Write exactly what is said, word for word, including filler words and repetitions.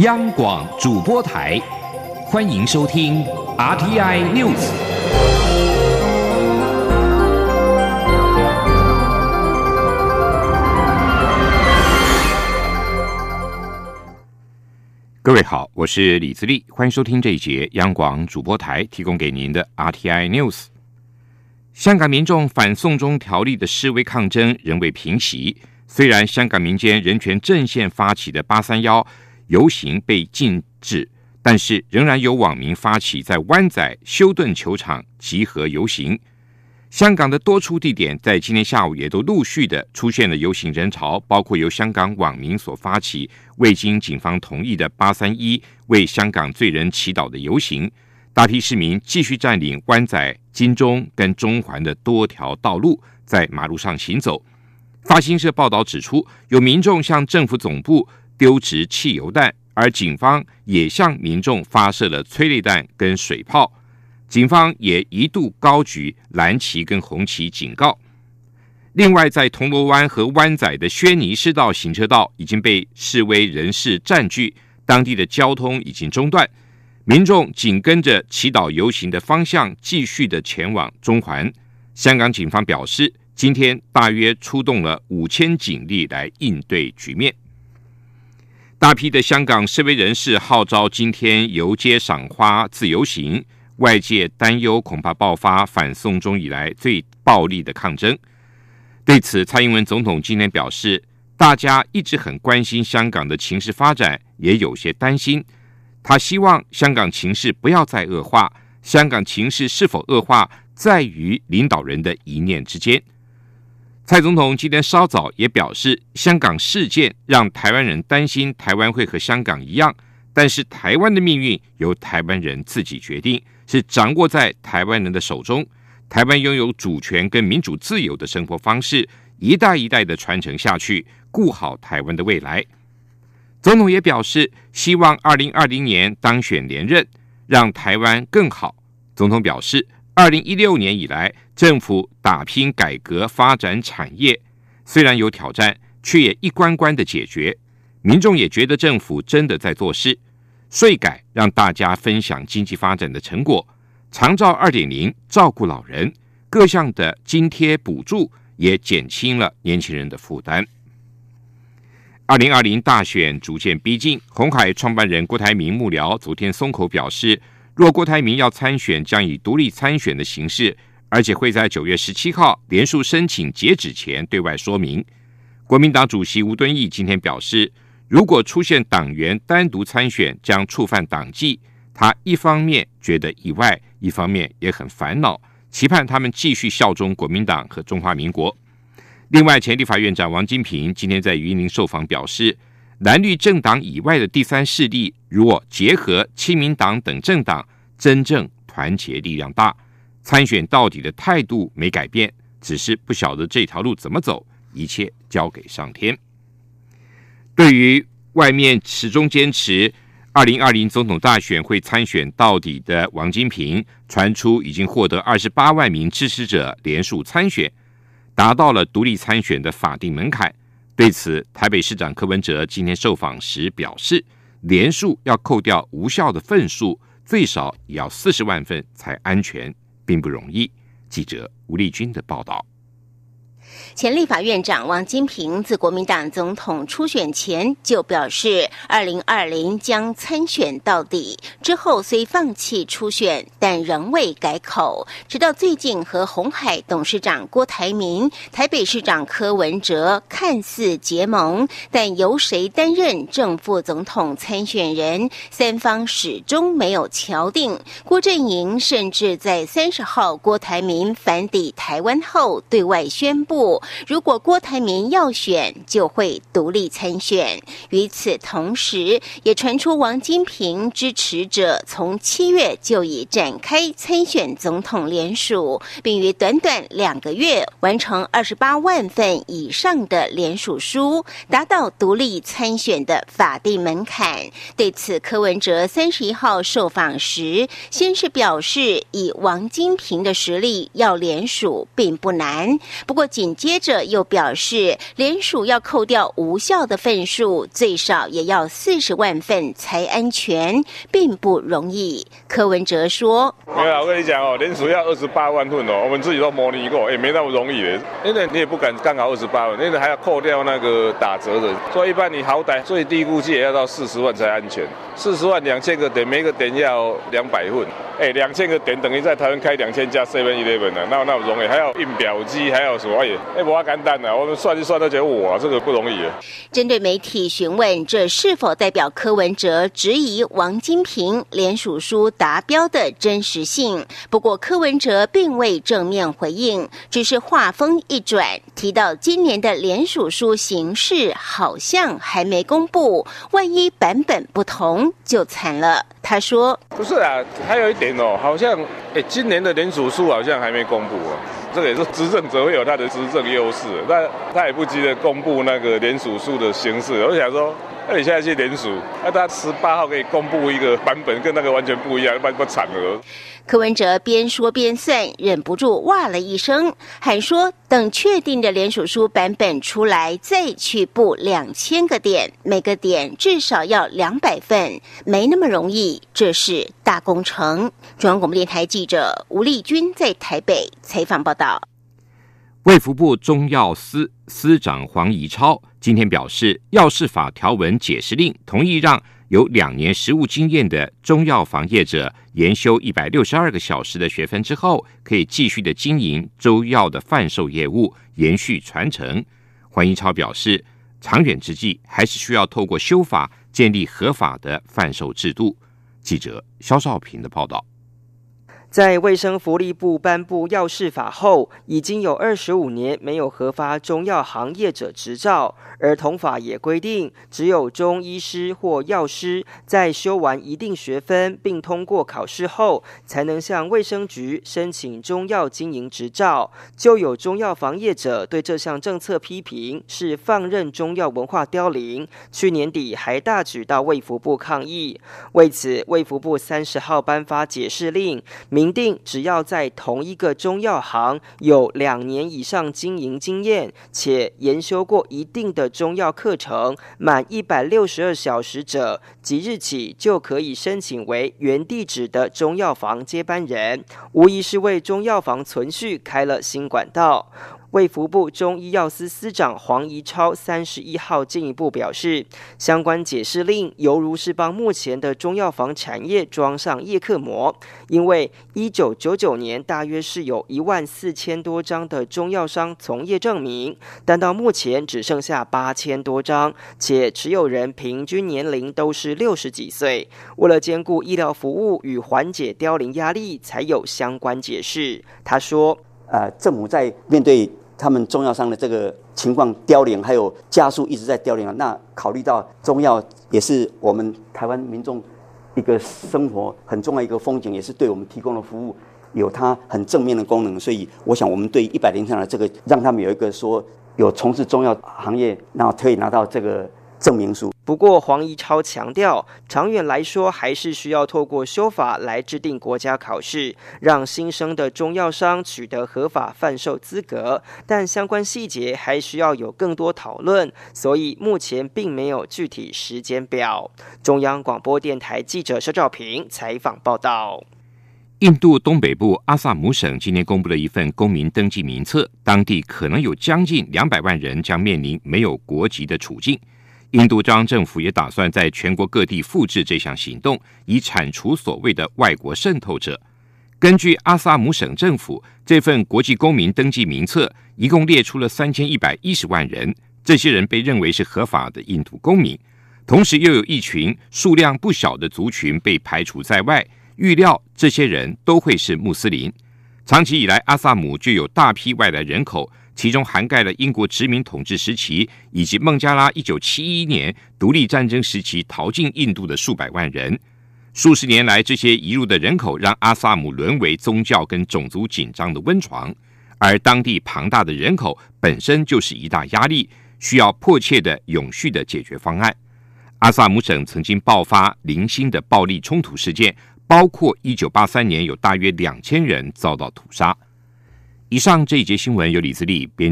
央广主播台，欢迎收听 R T I News。各位好，我是李自立，欢迎收听这一节央广主播台提供给您的 R T I News。香港民众反送中条例的示威抗争仍未平息，虽然香港民间人权阵线发起的八三一游行被禁止，但是仍然有网民发起在湾仔休顿球场集合游行。香港的多处地点在今天下午也都陆续的出现了游行人潮，包括由香港网民所发起未经警方同意的八三一为香港罪人祈祷的游行。大批市民继续占领湾仔、金钟跟中环的多条道路，在马路上行走。法新社报道指出，有民众向政府总部丢掷汽油弹，而警方也向民众发射了催泪弹跟水炮。警方也一度高举蓝旗跟红旗警告。另外，在铜锣湾和湾仔的轩尼诗道行车道已经被示威人士占据，当地的交通已经中断，民众紧跟着祈祷游行的方向继续的前往中环。香港警方表示，今天大约出动了五千警力来应对局面。大批的香港示威人士号召今天游街赏花自由行，外界担忧恐怕爆发反送中以来最暴力的抗争。对此，蔡英文总统今天表示，大家一直很关心香港的情势发展，也有些担心。他希望香港情势不要再恶化，香港情势是否恶化，在于领导人的一念之间。蔡总统今天稍早也表示，香港事件让台湾人担心台湾会和香港一样，但是台湾的命运由台湾人自己决定，是掌握在台湾人的手中。台湾拥有主权跟民主自由的生活方式，一代一代的传承下去，顾好台湾的未来。总统也表示，希望二零二零年当选连任，让台湾更好。总统表示，二零一六年以来，政府打拼改革发展产业，虽然有挑战，却也一关关的解决。民众也觉得政府真的在做事，税改让大家分享经济发展的成果，长照 二点零 照顾老人，各项的津贴补助也减轻了年轻人的负担。二零二零大选逐渐逼近，鸿海创办人郭台铭幕僚昨天松口表示，若郭台铭要参选，将以独立参选的形式，而且会在九月十七号连署申请截止前对外说明。国民党主席吴敦义今天表示，如果出现党员单独参选，将触犯党纪。他一方面觉得意外，一方面也很烦恼，期盼他们继续效忠国民党和中华民国。另外，前立法院长王金平今天在云林受访表示，蓝绿政党以外的第三势力，如果结合亲民党等政党，真正团结力量大。参选到底的态度没改变，只是不晓得这条路怎么走，一切交给上天。对于外面始终坚持二零二零总统大选会参选到底的王金平，传出已经获得二十八万名支持者联署参选，达到了独立参选的法定门槛。对此，台北市长柯文哲今天受访时表示，联署要扣掉无效的份数，最少也要四十万份才安全，并不容易。记者吴丽君的报道。 前立法院长王金平自国民党总统初选前就表示，二零二零将参选到底，之后虽放弃初选，但仍未改口。直到最近和鸿海董事长郭台铭、台北市长柯文哲看似结盟，但由谁担任正副总统参选人，三方始终没有敲定。郭阵营甚至在三十号郭台铭返抵台湾后对外宣布，如果郭台铭要选，就会独立参选。与此同时，也传出王金平支持者从七月就已展开参选总统联署，并于短短两个月完成二十八万份以上的联署书，达到独立参选的法定门槛。对此，柯文哲三十一号受访时，先是表示，以王金平的实力要联署并不难，不过紧紧接着又表示，联署要扣掉无效的份数，最少也要四十万份才安全，并不容易。柯文哲说：“ 没有，我跟你讲哦，联署要二十八万份哦，我们自己都模拟过，也没那么容易的。因为你也不敢刚好二十八万，因为还要扣掉那个打折的，所以一般你好歹最低估计也要到四十万才安全。四十万两千个点，每个点要两百份。哎，两千个点等于在台湾开两千家 seven eleven 啊，那那么容易，还要印表机，还要什么？哎，哎，不简单啊！我们算一算都觉得哇，这个不容易。” 针对媒体询问这是否代表柯文哲质疑王金平联署书达标的真实性，不过柯文哲并未正面回应，只是话锋一转，提到今年的联署书形式好像还没公布，万一版本不同就惨了。他说：“ 不是啊，还有一点哦，好像哎，今年的联署书好像还没公布哦。这个也是执政者会有他的执政优势，但他也不急着公布那个联署书的形式。我想说，那你现在去联署，那他十八号可以公布一个版本，跟那个完全不一样，不然不惨了。” 柯文哲边说边算，忍不住哇了一声，还说等确定的联署书版本出来，再去布两千个点，每个点至少要两百份，没那么容易，这是大工程。中央广播电台记者吴丽君在台北采访报道。 卫福部中药司司长黄宜超今天表示，药事法条文解释令同意让有两年实务经验的中药行业者研修一百六十二个小时的学分之后，可以继续的经营中药的贩售业务，延续传承。黄宜超表示，长远之计还是需要透过修法建立合法的贩售制度。记者肖少平的报道。 在卫生福利部颁布药事法后，已经有二十五年没有核发中药行业者执照，而同法也规定，只有中医师或药师在修完一定学分并通过考试后，才能向卫生局申请中药经营执照。就有中药行业者对这项政策批评是放任中药文化凋零，去年底还大举到卫福部抗议。为此，卫福部三十号颁发解释令，明定只要在同一个中药行有两年以上经营经验，且研修过一定的中药课程满一百六十二小时者，即日起就可以申请为原地址的中药房接班人，无疑是为中药房存续开了新管道。卫福部中医药司司长黄宜超三十一号进一步表示，相关解释令犹如是帮目前的中药房产业装上叶克膜，因为一九九九年大约是有一万四千多张的中药商从业证明，但到目前只剩下八千多张，且持有人平均年龄都是六十几岁。为了兼顾医疗服务与缓解凋零压力，才有相关解释。他说， 呃，政府在面对他们中药商的这个情况凋零，还有加速一直在凋零啊。那考虑到中药也是我们台湾民众一个生活很重要一个风景，也是对我们提供的服务有它很正面的功能，所以我想我们对一百零三的这个让他们有一个说有从事中药行业，然后可以拿到这个证明书。 不过黄宜超强调，长远来说还是需要透过修法来制定国家考试，让新生的中药商取得合法贩售资格，但相关细节还需要有更多讨论，所以目前并没有具体时间表。中央广播电台记者肖兆平采访报道。 印度东北部阿萨姆省今天公布了一份公民登记名册，当地可能有将近两百万人将面临没有国籍的处境。印度中央政府也打算在全国各地复制这项行动，以铲除所谓的外国渗透者。根据阿萨姆省政府，这份国际公民登记名册一共列出了三千一百一十万人，这些人被认为是合法的印度公民，同时又有一群数量不小的族群被排除在外，预料这些人都会是穆斯林。长期以来，阿萨姆就有大批外来人口，其中涵盖了英国殖民统治时期以及孟加拉一九七一年独立战争时期逃进印度的数百万人。数十年来，这些移入的人口让阿萨姆沦为宗教跟种族紧张的温床，而当地庞大的人口本身就是一大压力，需要迫切的永续的解决方案。阿萨姆省曾经爆发零星的暴力冲突事件，包括一九八三年有大约两千人遭到屠杀。以上这一节新闻由李自力编